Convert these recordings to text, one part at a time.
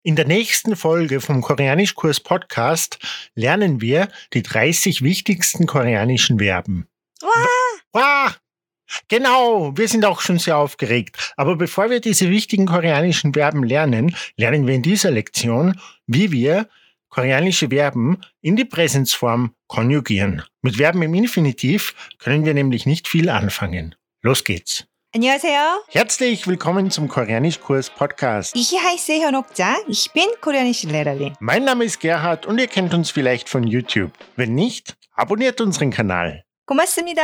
In der nächsten Folge vom Koreanischkurs Podcast lernen wir die 30 wichtigsten koreanischen Verben. Wow! Genau, wir sind auch schon sehr aufgeregt. Aber bevor wir diese wichtigen koreanischen Verben lernen, lernen wir in dieser Lektion, wie wir koreanische Verben in die Präsensform konjugieren. Mit Verben im Infinitiv können wir nämlich nicht viel anfangen. Los geht's. 안녕하세요. Herzlich willkommen zum Koreanischkurs Podcast. Ich heiße 현옥자. Ich bin koreanische Lehrerin. Mein Name ist Gerhard und ihr kennt uns vielleicht von YouTube. Wenn nicht, abonniert unseren Kanal. 고맙습니다.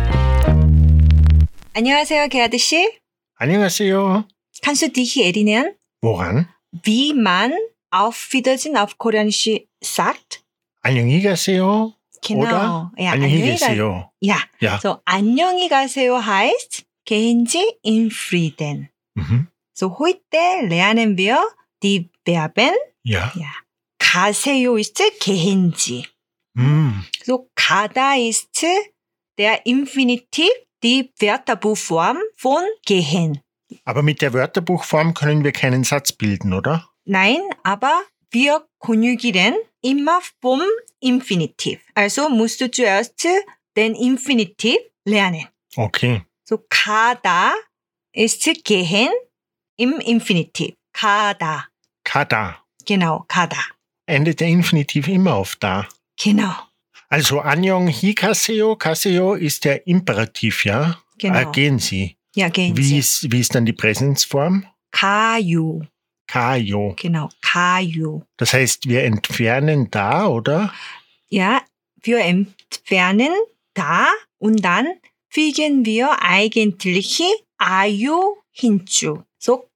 안녕하세요, 게하드 씨. 안녕하세요. Kannst du dich erinnern, Woran? wie man auf Wiedersehen auf Koreanisch sagt? 안녕히 가세요. Genau. Oder Ja, 안녕히 계세요. Ja. Ja. So, 안녕히 가세요 heißt, gehen Sie in Frieden. Mhm. So, heute lernen wir die Verben. Ja. Ja. 가세요 ist gehen Sie. Mm. So, 가다 ist der Infinitiv, die Wörterbuchform von gehen. Aber mit der Wörterbuchform können wir keinen Satz bilden, oder? Nein, aber wir konjugieren immer vom Infinitiv. Also musst du zuerst den Infinitiv lernen. Okay. So, 가다 ist gehen im Infinitiv. 가다. Kada. Genau, 가다. Endet der Infinitiv immer auf da. Genau. Also 안녕히 가세요. 가세요 ist der Imperativ, ja? Genau. Gehen Sie. Ja, gehen Wie Sie. ist dann die Präsensform? 가요. 가요. Genau, 가요. Das heißt, wir entfernen da, oder? Ja, wir entfernen da und dann fügen wir eigentlich 아유 hinzu. So,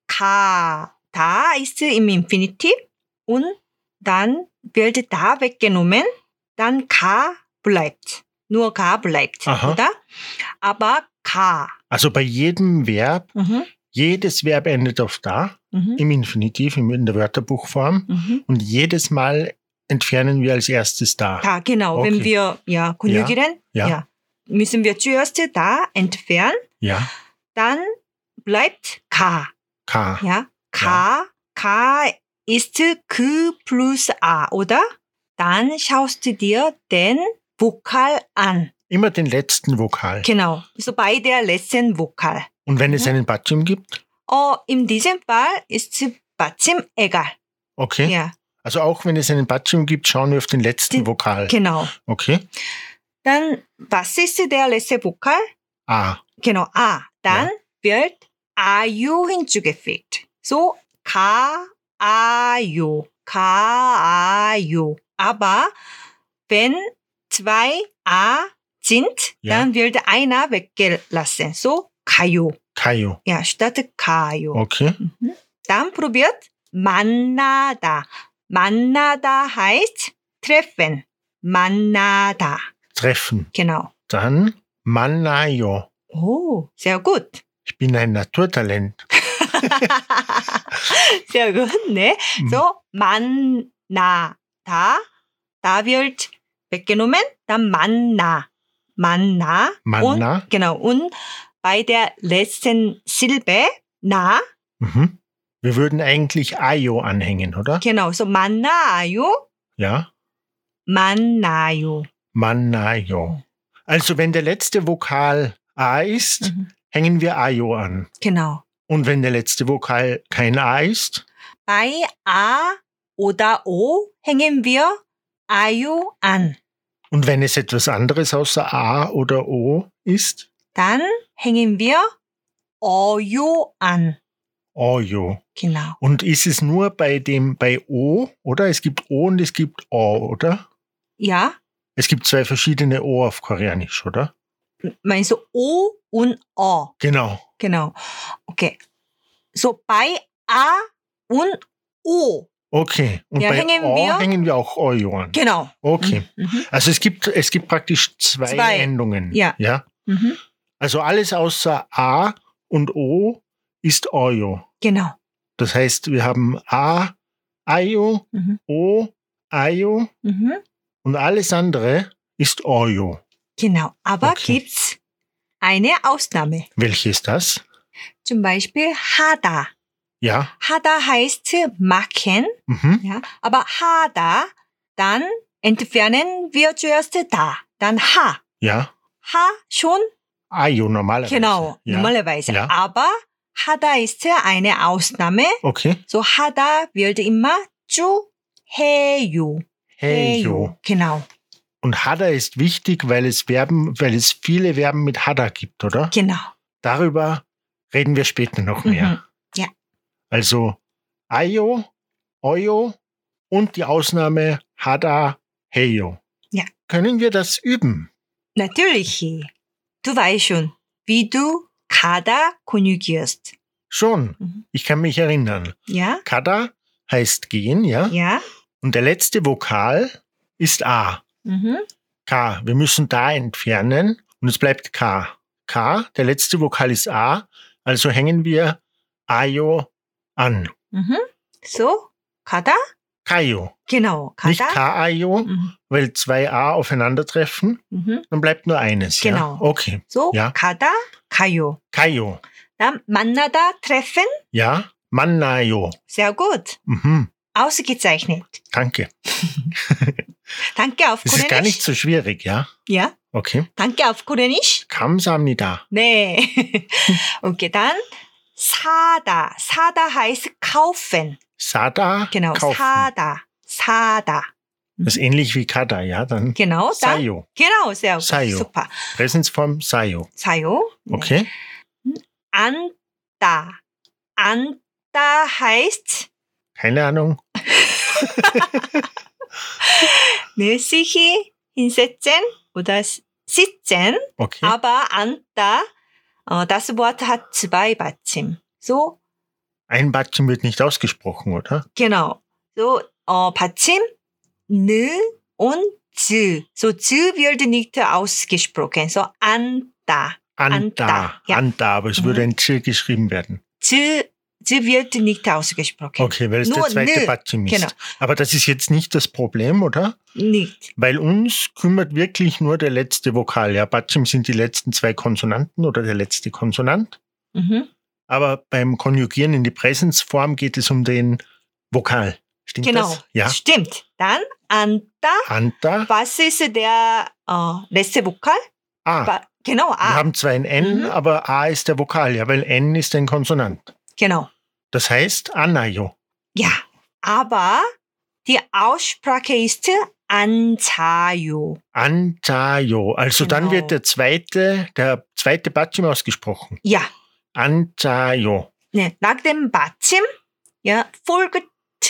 da ist im Infinitiv und dann wird da weggenommen, dann bleibt. Nur bleibt, Aha. oder? Aber Also bei jedem Verb, jedes Verb endet auf da, im Infinitiv, in der Wörterbuchform. Und jedes Mal entfernen wir als erstes da. Da, genau. Okay. Wenn wir konjugieren, Ja. müssen wir zuerst da entfernen, Ja. dann bleibt K. Ja, K ist 그 plus A, oder? Dann schaust du dir den Vokal an. Immer den letzten Vokal. Genau, so bei der letzten Vokal. Und wenn es einen Batschim gibt? In diesem Fall ist Batschim egal. Okay. Ja, Also auch wenn es einen Batschim gibt, schauen wir auf den letzten Vokal. genau. Okay. Dann, was ist der letzte Vokal? A. Genau, A. Dann wird 아유 hinzugefügt. So, 가아요. Aber wenn zwei A sind, dann wird einer weggelassen. So, 가요. Kayo. Ja, statt 가요. Okay. Dann probiert 만나다. 만나다 heißt treffen. 만나다. Treffen. Genau. Dann 만나요. Oh, sehr gut. Ich bin ein Naturtalent. Sehr gut, ne? So, 만나다. Da wird weggenommen, dann 만나. 만나. Und, genau. Und bei der letzten Silbe, na, Wir würden eigentlich ayo anhängen, oder? genau. So, 만나요, Ja. 만나요. 만나요. Also wenn der letzte Vokal A ist, hängen wir ayo an. Genau. Und wenn der letzte Vokal kein A ist? Bei A oder O hängen wir 아유 an. Und wenn es etwas anderes außer A oder O ist? Dann hängen wir 어요 an. Oyo. Genau. Und ist es nur bei O, oder? Es gibt O und es gibt O, oder? Ja, Es gibt zwei verschiedene O auf Koreanisch, oder? meinst du O und O? Genau. Genau. Okay. So bei A und O. Okay. Und Ja, bei hängen O wir- hängen wir auch Oyo an. Genau. Okay. Also es gibt praktisch zwei Zwei. Endungen. Ja. Ja. Mhm. Also alles außer A und O ist Oyo. Genau. Das heißt, wir haben A, Ayo, O, Ayo und alles andere ist Oyo. Genau. Aber Okay. gibt's eine Ausnahme. Welche ist das? Zum Beispiel 하다. Ja. 하다 heißt machen, ja, aber 하다, dann entfernen wir zuerst da, dann ha. Ja. Ha schon, Ayo normalerweise. genau, Ja. normalerweise. Ja. Aber 하다 ist eine Ausnahme. Okay. So 하다 wird immer zu 해요. Heyo. Genau, Und Hada ist wichtig, weil es viele Verben mit Hada gibt, oder? genau. Darüber reden wir später noch mehr. Ja. Also Ayo, Oyo und die Ausnahme Hada, Heyo. Ja. Können wir das üben? Natürlich. Du weißt schon, wie du 가다 konjugierst. Schon. Mhm. Ich kann mich erinnern. Ja? Kada heißt gehen, ja? Ja? Und der letzte Vokal ist A. Mhm. K. Wir müssen da entfernen und es bleibt K. K, der letzte Vokal ist A, also hängen wir Ayo an. Mhm. So, 가다? Kayo. Genau, 가다. Nicht K-Ayo, Mhm. weil zwei A aufeinandertreffen, Mhm. dann bleibt nur eines. Genau. Ja? Okay. So, Ja. 가다, 가요. Kayo. Dann 만나다, treffen. Ja. Mannayo. Sehr gut. Mhm. Ausgezeichnet. Danke. Danke auf Das ist gar nicht Koreanisch. so schwierig, ja? Ja, Okay. danke auf Koreanisch. 감사합니다. 네. Okay, dann 사다. 사다 heißt kaufen. Sada. Genau, kaufen. 사다. 사다. Das ist ähnlich wie Kada, ja? Dann Genau, dann. Sayo. Genau, sehr gut. Sayo. Super. Präsensform Sayo. 사요. 네. Okay. 앉다. 앉다 heißt Keine Ahnung. 네, sich hinsetzen oder sitzen. Okay. Aber 앉다, das Wort hat zwei 받침. So, Ein Batschen wird nicht ausgesprochen, oder? genau. So, 받침, 느 und z. So, z wird nicht ausgesprochen. So, 앉다. Anta. ja. Anta, aber es würde ein Z geschrieben werden. z wird nicht ausgesprochen. Okay, weil es Nur der zweite nö. Batschen ist. Genau. Aber das ist jetzt nicht das Problem, oder? Nicht. Weil uns kümmert wirklich nur der letzte Vokal. Ja, Batschim sind die letzten zwei Konsonanten oder der letzte Konsonant. Mhm. Aber beim Konjugieren in die Präsensform geht es um den Vokal. Stimmt Genau. das? Ja. Stimmt. Dann, 앉다. Anta. Was ist der letzte Vokal? A. Genau, Wir A. haben zwar ein N, Mhm. aber A ist der Vokal, ja, weil N ist ein Konsonant. Genau. Das heißt Anayo. Ja. Aber die Aussprache ist 앉아요. Antayo. Also dann Genau. wird der zweite Batschim ausgesprochen. Ja. Antayo. 네, nach dem 받침 ja, folgt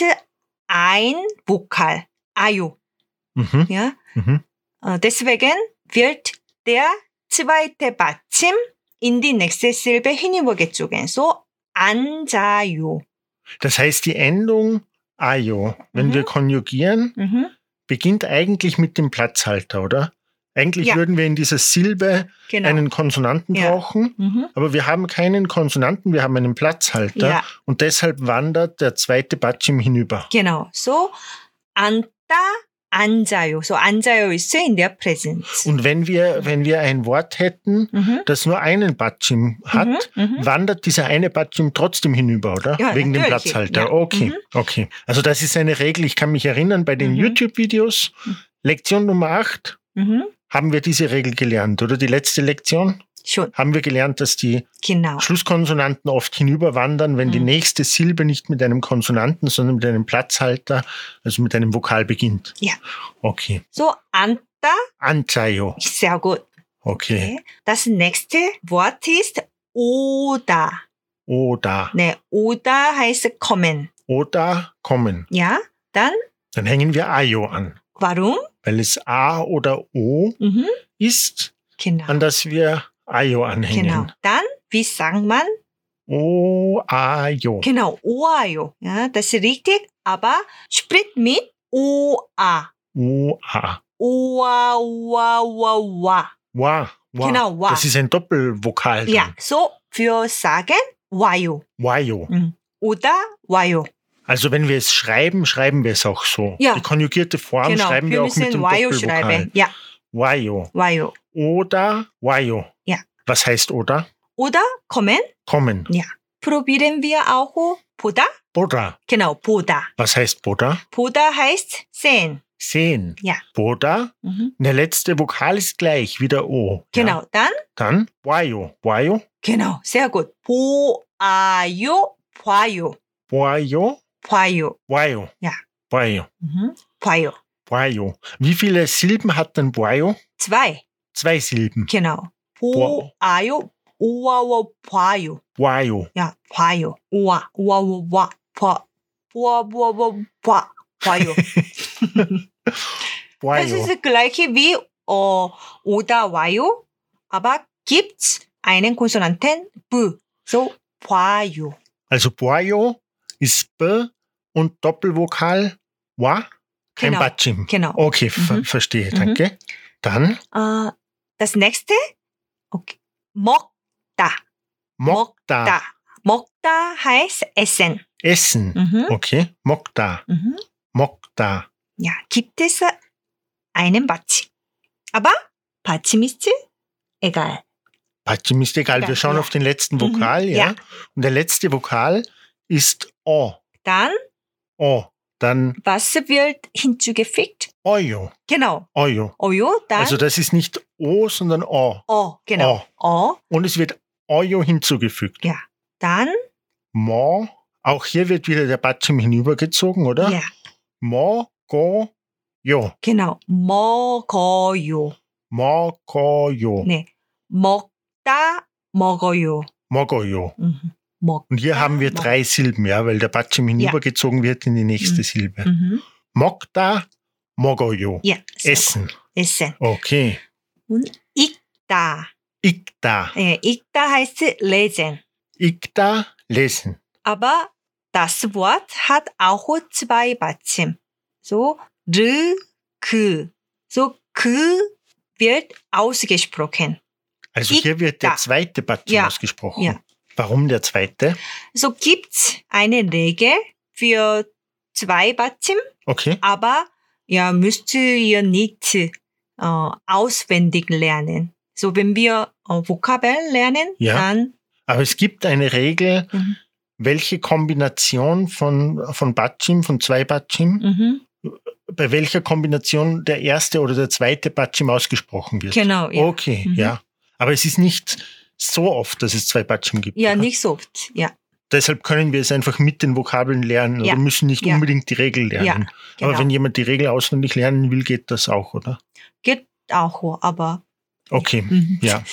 ein Vokal. 아요. Mhm. Ja. Mhm. Deswegen wird der zweite 받침 in die nächste Silbe hinübergezogen. So, 앉아요. Das heißt, die Endung Ayo, wenn Mhm. wir konjugieren, Mhm. beginnt eigentlich mit dem Platzhalter, oder? Eigentlich Ja. würden wir in dieser Silbe Genau. einen Konsonanten Ja. brauchen, Mhm. aber wir haben keinen Konsonanten, wir haben einen Platzhalter Ja. und deshalb wandert der zweite Batschim hinüber. Genau. So, 앉다, 앉아요. So, 앉아요 ist in der Präsenz. Und wenn wir ein Wort hätten, Mhm. das nur einen Batschim hat, Mhm. Mhm. wandert dieser eine Batschim trotzdem hinüber, oder? Ja, Wegen dem natürlich. Platzhalter. Ja. Okay, Mhm. okay. Also das ist eine Regel. Ich kann mich erinnern, bei den Mhm. YouTube-Videos, Lektion Nummer 8, Mhm. haben wir diese Regel gelernt, oder? Die letzte Lektion Schon. haben wir gelernt, dass die Genau. Schlusskonsonanten oft hinüberwandern, wenn die Mhm. nächste Silbe nicht mit einem Konsonanten, sondern mit einem Platzhalter, also mit einem Vokal beginnt. Ja. Okay. So, 앉다, Anzayo. sehr gut. Okay. Das nächste Wort ist 오다. Oder. 네, 오다 heißt kommen. Oder kommen. Ja, dann, Dann hängen wir Ayo an, warum? weil es A oder O Mhm. ist, Genau. an das wir Ayo anhängen. Genau. Dann, wie sagt man? O, Ayo. Genau, 오아요. Ja, das ist richtig, aber spricht mit 오아. O, A. 오아, 오아, 오아, 오아. Wa. Wa. Genau, wa. Das ist ein Doppelvokal. Ja, dann. so für sagen 와요. Wayo. 오다, 와요. Also wenn wir es schreiben, schreiben wir es auch so. Ja. Die konjugierte Form Genau, schreiben wir wir auch mit müssen dem 와요 Doppelvokal. schreiben. Ja, Wayo. 와요. Oder Wayo. Ja. Was heißt oder? Oder kommen? Kommen. Ja. probieren wir auch 보다. Boda. Genau, 보다. Was heißt Boda? 보다 heißt sehen. Sehen. Ja. Boda. Mhm. Der letzte Vokal ist gleich wie der O. Genau, Ja. dann, Dann Boyo. Boyo. genau, sehr gut. 보아요, 봐요, Boyo. 봐요. Boyo. Ja. Boyo. Mhm. 봐요. Boyo. Wie viele Silben hat denn Boyo? 2, 2 Silben. genau. 보- 보아요, 오와와 봐요. Boyo. Ja, 봐요. 오와, 오와와 봐, 보아보아보 봐, 봐요. Das Boyo. ist das gleiche wie oder 와요, aber gibt's einen Konsonanten b, so 봐요. Also Boyo ist B und Doppelvokal Wa. Kein Genau. Batschim. Genau. Okay, Mhm. verstehe, Mhm. danke. Dann Das nächste, okay. 먹다. Mokta. 먹다 heißt essen. Essen. Mhm. Okay, Mokta. Mhm. Mokta. Ja, gibt es einen 받침. Aber 받침 ist egal. Batschim ist egal. Egal, Wir schauen ja. auf den letzten Mhm. Vokal, ja. Ja. Und der letzte Vokal ist O. Dann, O. Dann was wird hinzugefügt? Oyo. Genau. Oyo. Oyo, dann Also das ist nicht O, sondern O. genau. Und es wird Oyo hinzugefügt. Ja. Dann, Mo. Auch hier wird wieder der Batschim hinübergezogen, oder? ja, Mo, go, yo. genau. 먹어요. Mo, go, yo. 네. 먹다, 먹어요. Mogoyo. Mhm. 먹. Und hier haben wir 먹. 3 Silben, ja, weil der Batschim hinübergezogen wird in die nächste Mhm. Silbe. Mhm. Mokta, mogoyo. Ja. sehr Essen. gut. Essen. Okay. Und 읽다. Ikta. 읽다 heißt lesen. Ikta, lesen. Aber das Wort hat auch 2 받침. So, 르, 그. So, 그 wird ausgesprochen. Also hier wird der Ikta. zweite Batschim Ja. ausgesprochen. Ja. Warum der zweite? So gibt's eine Regel für 2 받침, Okay. aber ja, müsst ihr nicht auswendig lernen. So, wenn wir Vokabeln lernen, Ja. dann Aber es gibt eine Regel, Mhm. welche Kombination von Batschim, von 2 Batschim, bei welcher Kombination der erste oder der zweite Batschim ausgesprochen wird. genau, ja. Okay, Mhm. ja. Aber es ist nicht so oft, dass es 2 Batschim gibt. Ja, oder? nicht so oft, ja. Deshalb können wir es einfach mit den Vokabeln lernen Ja. oder müssen nicht Ja. unbedingt die Regel lernen. Ja, genau. Aber wenn jemand die Regel auswendig lernen will, geht das auch, oder? Geht auch, aber Okay, ja.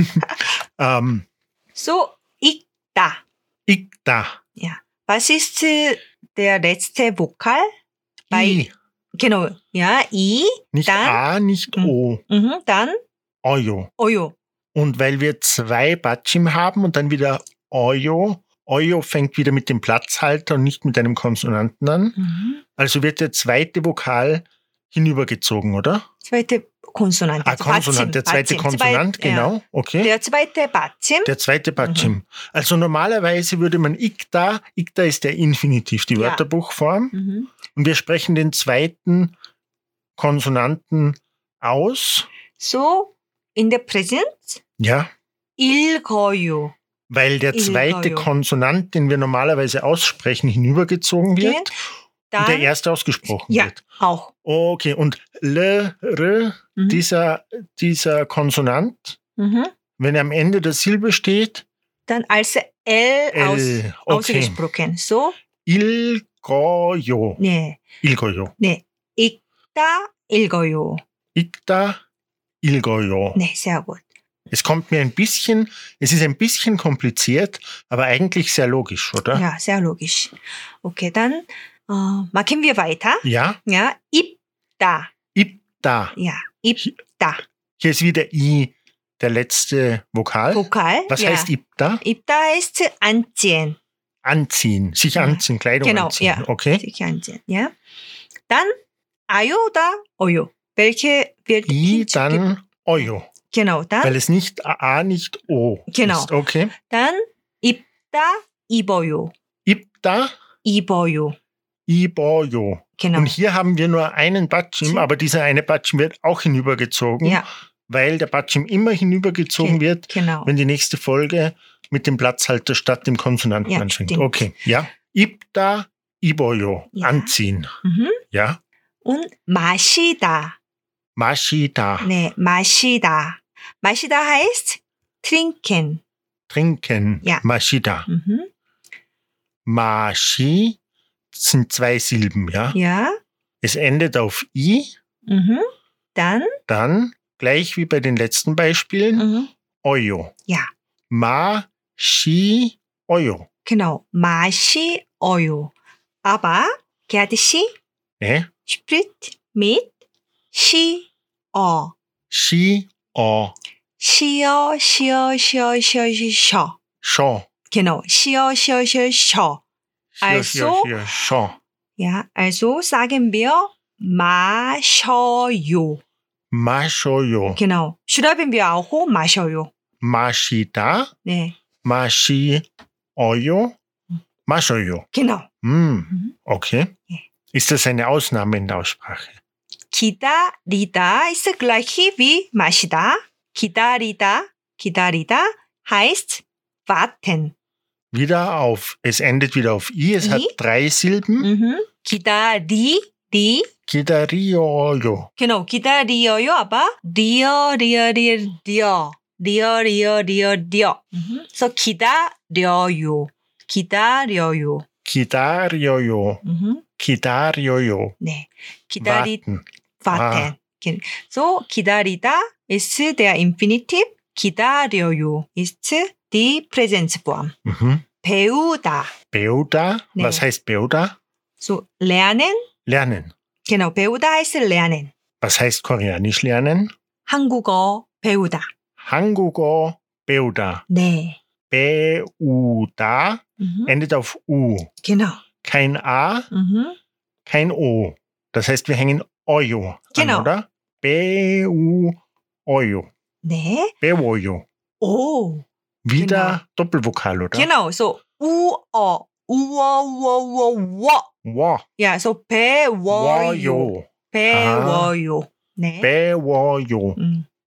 so, 읽다. Ikta. Ja. Was ist der letzte Vokal? I. Genau, ja, I, Nicht dann, A, nicht O. dann Oyo. Oyo. Und weil wir 2 Batschim haben und dann wieder Oyo, Oyo fängt wieder mit dem Platzhalter und nicht mit einem Konsonanten an. Also wird der zweite Vokal hinübergezogen, oder? Zweite Konsonant. Ah, Konsonant, der zweite Konsonant, genau. Ja. Okay. Der zweite 받침. Der zweite Batschim. Also normalerweise würde man Ikta ist der Infinitiv, die Ja. Wörterbuchform. Mhm. Und wir sprechen den zweiten Konsonanten aus. So, in der Präsent, Ja. 읽어요. Weil der zweite 읽어요. Konsonant, den wir normalerweise aussprechen, hinübergezogen wird und der Dann, erste ausgesprochen ja, wird. auch. Okay, und L, R, Mhm. dieser Konsonant, wenn er am Ende der Silbe steht, Dann als L, L, okay. ausgesprochen. So, Ilgoyo. 네, Ilgoyo. 네. 읽다, 읽어요. Ikta, Ilgoyo. 네, sehr gut. Es ist ein bisschen kompliziert, aber eigentlich sehr logisch, oder? Ja, sehr logisch. Okay, dann machen wir weiter. Ja, Ja, 입다. Ipta. Ja, 입다. Hier ist wieder I, der letzte Vokal. Vokal. Was ja. heißt Ipta? 입다 heißt anziehen. Anziehen, sich Ja. anziehen, Kleidung Genau, anziehen. ja. Okay. Sich anziehen. Ja. Dann 아요 oder 어요. Welche wird I, hinzuge- dann Oyo. Genau, dann Weil es nicht A, nicht O Genau. ist. Okay. dann 입다, 입어요. Ipta, 입어요. Iboyo. Genau. Und hier haben wir nur einen Batschim, aber dieser eine Batschim wird auch hinübergezogen, Ja, weil der Batschim immer hinübergezogen wird, genau. wenn die nächste Folge mit dem Platzhalter statt dem Konsonanten Ja, anfängt. stimmt. Okay, ja. 입다, 입어요. Ja. Anziehen. Mhm. Ja. Und 마시다. 마시다. 네, 마시다. 마시다 heißt trinken. Trinken. Ja. 마시다. Mhm. 마시 sind 2 Silben, ja. Ja. Es endet auf I, Mhm. Dann, dann, gleich wie bei den letzten Beispielen, mhm. 어요. ja, 마시어요. genau, 마시어요. Aber Gerd 씨 네. spricht mit 시어. 시어. 시어, 시어, 시어, 시어, 시어. 셔. Genau, 시어, 시어, 시어, 시어. Also, 셔. ja, also sagen wir 마셔요. 마셔요. Genau, schreiben wir auch 마셔요. 마시다. 네, 마시어요. 마셔요. genau. Okay. Ja. Ist das eine Ausnahme in der Aussprache? 기다리다 ist gleich wie 마시다. 기다리다, 기다리다 heißt warten. Wieder auf, es endet wieder auf I, es hat I. 3 Silben. Mhm. 기다리, 기다려요. genau, 기다려요, aber 리어. Mhm. So 기다려요. 기다려요. Mhm. 기다려요. 네, Warten. warten. So 기다리다 ist der Infinitiv. 기다려요 ist die Präsensform. Mhm. 배우다. 배우다. 네. Was heißt 배우다? So lernen. Lernen. Genau, 배우다 heißt lernen. Was heißt Koreanisch lernen? 한국어 배우다. 한국어 배우다. 네. 배우다 Mhm. endet auf U. Genau. Kein A, Mhm. kein O. Das heißt, wir hängen Oyo Genau. an, oder? 배우어요. 네. 배워요. Oh. Wieder Doppelvokal, oder? Genau, so 우어. 우어. 워. Ja, so 배워요. 워요. 배워요. 네. 배워요.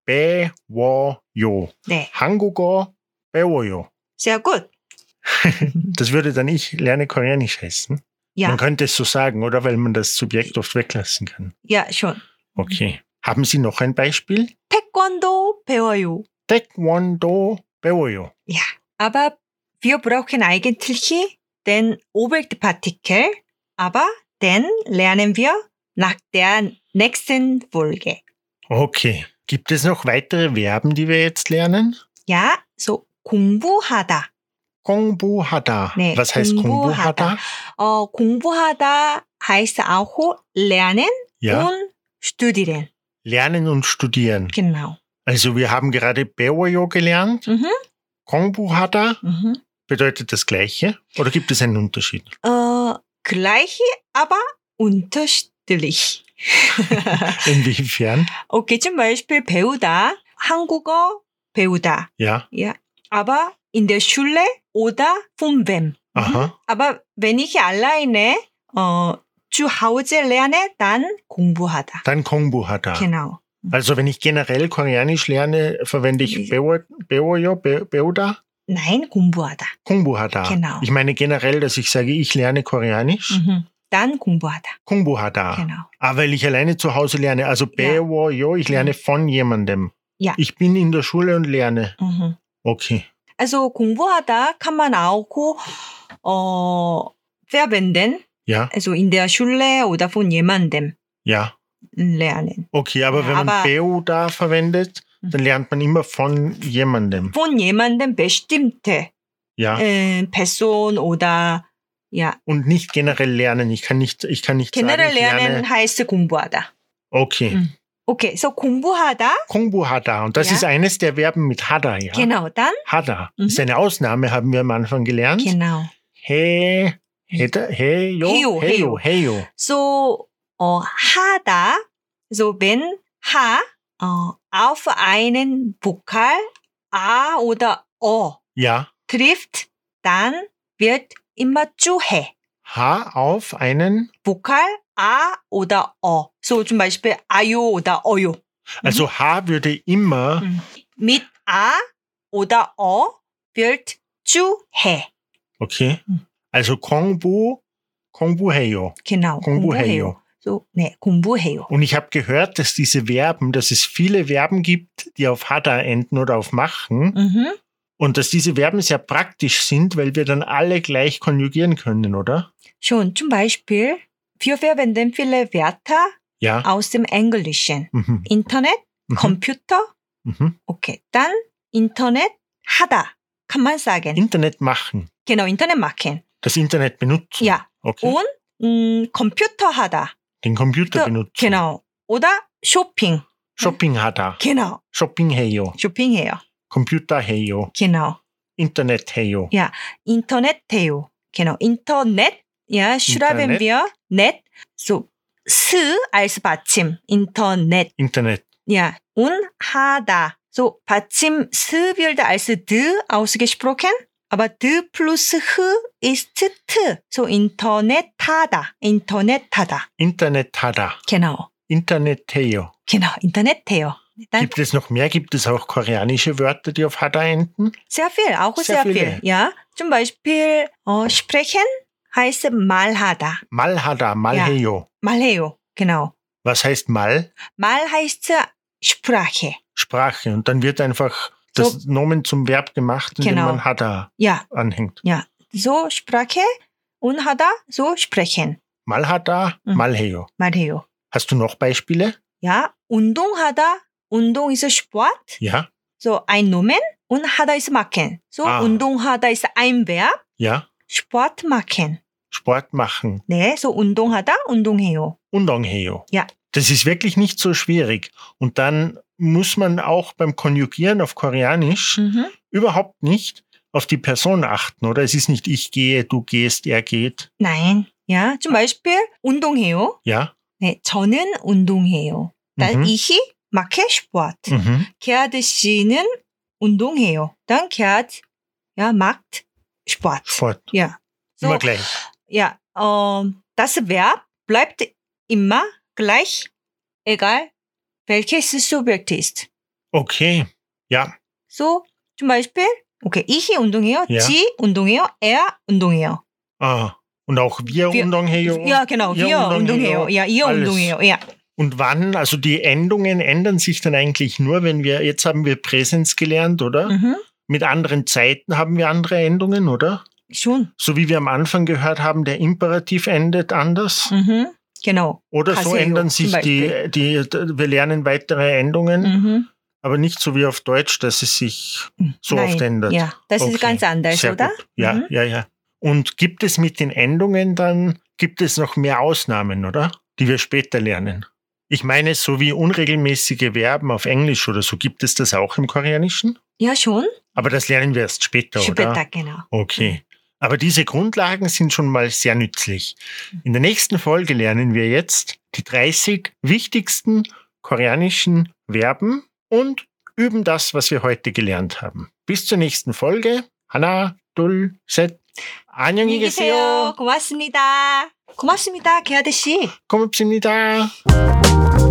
배워요. 네. 한국어 배워요. Sehr gut. Das würde dann ich lerne Koreanisch heißen. Ja. Man könnte es so sagen, oder? Weil man das Subjekt oft weglassen kann. Ja, schon. Okay. Haben Sie noch ein Beispiel? 태권도 배워요. Taekwondo 배워요. Ja, aber wir brauchen eigentlich den Oberpartikel, aber den lernen wir nach der nächsten Folge. Okay. Gibt es noch weitere Verben, die wir jetzt lernen? Ja, so 공부하다. 공부하다. 네, Was heißt 공부하다? 공부하다 heißt auch lernen Ja. und studieren. Lernen und studieren. Genau. Also wir haben gerade 배워요 gelernt. Mhm. 공부하다 Mhm. bedeutet das Gleiche? Oder gibt es einen Unterschied? Gleiche, aber unterschiedlich. Inwiefern? Okay, zum Beispiel 배우다, 한국어 배우다. Ja. Ja, aber in der Schule oder von wem. Aha. Aber wenn ich alleine zu Hause lerne, dann 공부하다. Dann 공부하다. Genau. Also wenn ich generell Koreanisch lerne, verwende ich 배워요, 배우다? Nein, 공부하다. 공부하다. Genau. Ich meine generell, dass ich sage, ich lerne Koreanisch. Dann 공부하다. 공부하다. Genau. Aber weil ich alleine zu Hause lerne, also 배워요, ich lerne von jemandem. Ja. Ich bin in der Schule und lerne. Okay. Also 공부하다 kann man auch verwenden. Ja. Also in der Schule oder von jemandem Ja. lernen. Okay, aber Ja, wenn man aber- 배우다 verwendet, dann lernt man immer von jemandem. Von jemandem bestimmte Ja. Person oder ja. Und nicht generell lernen. Ich kann nicht generell sagen, ich lernen lerne. heißt 공부하다. Okay. Okay, so 공부하다. 공부하다. Und das Ja. ist eines der Verben mit 하다, ja. Genau, dann. 하다. Das ist eine Ausnahme, haben wir am Anfang gelernt. Genau. 해요. 해요. So 하다. So wenn auf einen Vokal A oder O Ja. trifft, dann wird immer zu 해. H auf einen, Vokal A oder O. So zum Beispiel 아요 oder 어요. also H würde immer, Mit A oder O wird 집중해. Okay. Also 공부해요. Genau. 공부해요. So, 네, 공부해요. Und ich habe gehört, dass dass es viele Verben gibt, die auf hada enden oder auf machen. Mhm. Und dass diese Verben sehr praktisch sind, weil wir dann alle gleich konjugieren können, oder? Schon, zum Beispiel, wir verwenden viele Wörter Ja. aus dem Englischen. Mhm. Internet, Computer. Mhm. Okay, dann Internet 하다 kann man sagen. Internet machen. Genau, Internet machen. Das Internet benutzen. Ja. Okay. Und Computer 하다. Den Computer benutzen. Genau. Oder Shopping. Shopping hada. Genau. Shopping해요. 쇼핑해요. Computer해요. Genau. Internet해요. Ja, Internet 해요. Genau. Internet. Ja, schreiben Internet. wir net. So, 스 als 받침. Internet. Internet. Ja, und 하다. So, 받침 스 wird als d ausgesprochen. Aber d plus h ist t. So, Internet 하다. Internet 하다. Internethada. Genau. Internet해요. Genau, Internet 해요. Dann Gibt es noch mehr? Gibt es auch koreanische Wörter, die auf hada enden? sehr viel, auch Sehr sehr viel. viele. Ja, zum Beispiel sprechen heißt 말하다. Malhada, mal해요. 말해요. Genau. Was heißt mal? 말 heißt Sprache. Sprache. Und dann wird einfach das Nomen zum Verb gemacht, indem Genau. man hada Ja, anhängt. ja. So Sprache und 하다 so sprechen. Malhada, mal해요. 말해요. Hast du noch Beispiele? Ja, 운동하다. 운동 ist Sport. Ja, So ein Nomen und 하다 ist machen. So 운동하다 ist ein Verb. ja. Sport machen. Sport machen. 네, so 운동하다, 운동해요. 운동해요. Ja. Das ist wirklich nicht so schwierig. Und dann muss man auch beim Konjugieren auf Koreanisch überhaupt nicht auf die Person achten, oder? Es ist nicht ich gehe, du gehst, er geht. Nein. Ja, zum Beispiel 운동해요. Ja? 네, 저는 운동해요. dann ich mache Sport. Gerhard 씨는 운동해요. Dann Gerhard macht Sport. Sport. Ja. So, Immer gleich. ja, das Verb bleibt immer gleich, egal welches Subjekt ist. Okay. Ja. So, zum Beispiel, okay, ich 운동해요, Ja. sie 운동해요, er 운동해요. Ah. Und auch wir 운동해요. Ja, genau, ihr wir 운동해요. Ja, ihr alles. 운동해요. Ja. Und wann, also die Endungen ändern sich dann eigentlich nur, wenn jetzt haben wir Präsens gelernt, oder? Mit anderen Zeiten haben wir andere Endungen, oder? Schon. So wie wir am Anfang gehört haben, der Imperativ endet anders. Genau. Oder so 가세요, ändern sich zum Beispiel. wir lernen weitere Endungen, aber nicht so wie auf Deutsch, dass es sich so Nein. oft ändert. Ja, das ist ganz anders, Sehr oder? gut. Ja, ja. Und gibt es mit den Endungen dann, gibt es noch mehr Ausnahmen, oder? Die wir später lernen? Ich meine, so wie unregelmäßige Verben auf Englisch oder so, gibt es das auch im Koreanischen? Ja, schon. Aber das lernen wir erst später, Später, oder? genau. Okay. Aber diese Grundlagen sind schon mal sehr nützlich. In der nächsten Folge lernen wir jetzt die 30 wichtigsten koreanischen Verben und üben das, was wir heute gelernt haben. Bis zur nächsten Folge. 하나, 둘, 셋. 안녕히 계세요. 고맙습니다. 고맙습니다, 게하드 씨. 고맙습니다.